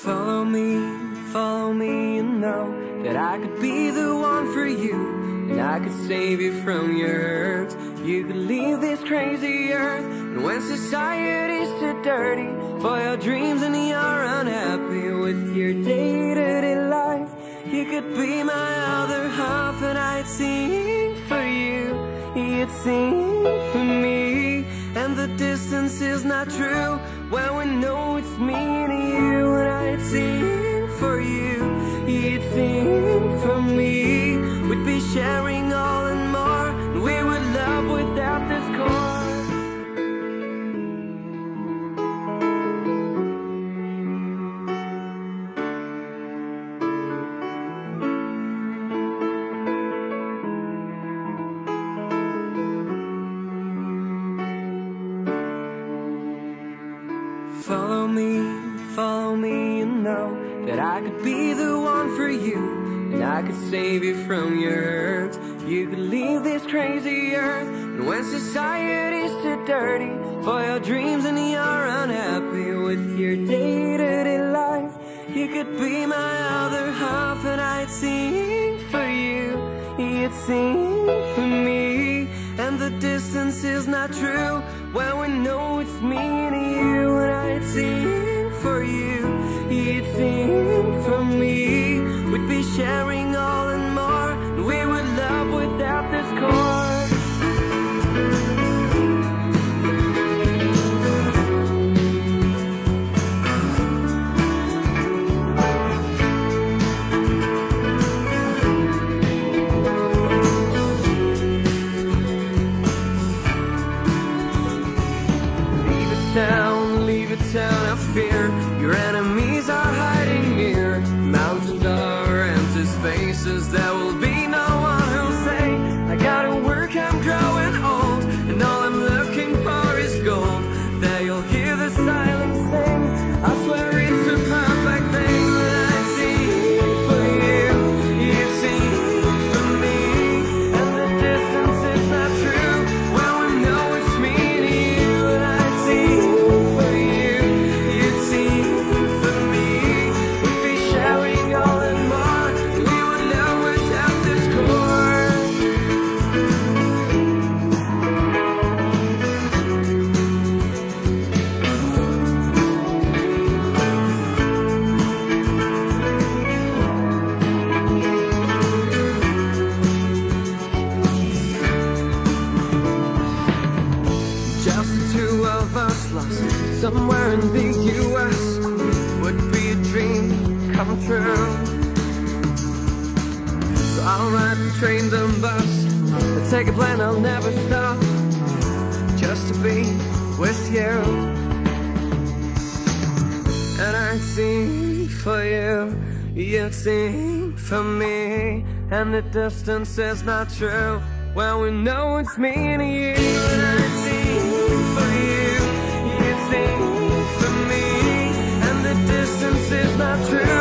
Follow me, and know that I could be the one for you, and I could save you from your hurts. You could leave this crazy earth, and when society's too dirty for your dreams and you're unhappy with your day-to-day life, you could be my other half, and I'd sing for you, you'd sing for me. And the distance is not true when we know it's me and you, and I'd sing for you, you'd sing for me. We'd be sharing all and more, and we would love without discord. Follow me, and know that I could be the one for you, and I could save you from your hurts. You could leave this crazy earth, and when society's too dirty for your dreams and you're unhappy with your day-to-day life, you could be my other half, and I'd sing for you, you'd sing for me. And the distance is not true when we know it's me and you, and I'd sing for you, you'd sing for me. We'd be sharing all and more, and we would love without discord. Leave it town, I fear your enemies are hiding near. Mountains are empty spaces, there will be no one who'll say, I gotta work, I'm growing old, and all I'm looking for is gold. There you'll hear the silence sing, I swear it's a perfect thing. That I sing for you, you sing for me, and the distance is not true when we know it's me and you, and I sing for you, you'd sing for me. We'd be sharing all and more, we would love without discord. Just the two of us lost somewhere in the US would be a dream come true. So I'll ride the train, the bus, and take a plane, I'll never stop, just to be with you. And I'd sing for you, you'd sing for me, and the distance is not true when we know it's me and you. And I'd sing for you, you'd sing for me, and the distance is not true